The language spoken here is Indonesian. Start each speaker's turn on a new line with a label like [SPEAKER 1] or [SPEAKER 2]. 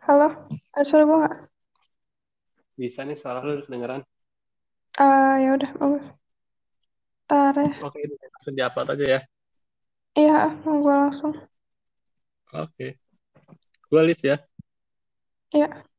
[SPEAKER 1] Halo, ada suara gue nggak?
[SPEAKER 2] Bisa nih suara lu kedengeran.
[SPEAKER 1] Ya udah bagus. Ntar ya.
[SPEAKER 2] Oke, ini langsung diupload aja ya.
[SPEAKER 1] Iya, mau gue langsung.
[SPEAKER 2] Oke, gue live ya.
[SPEAKER 1] Iya.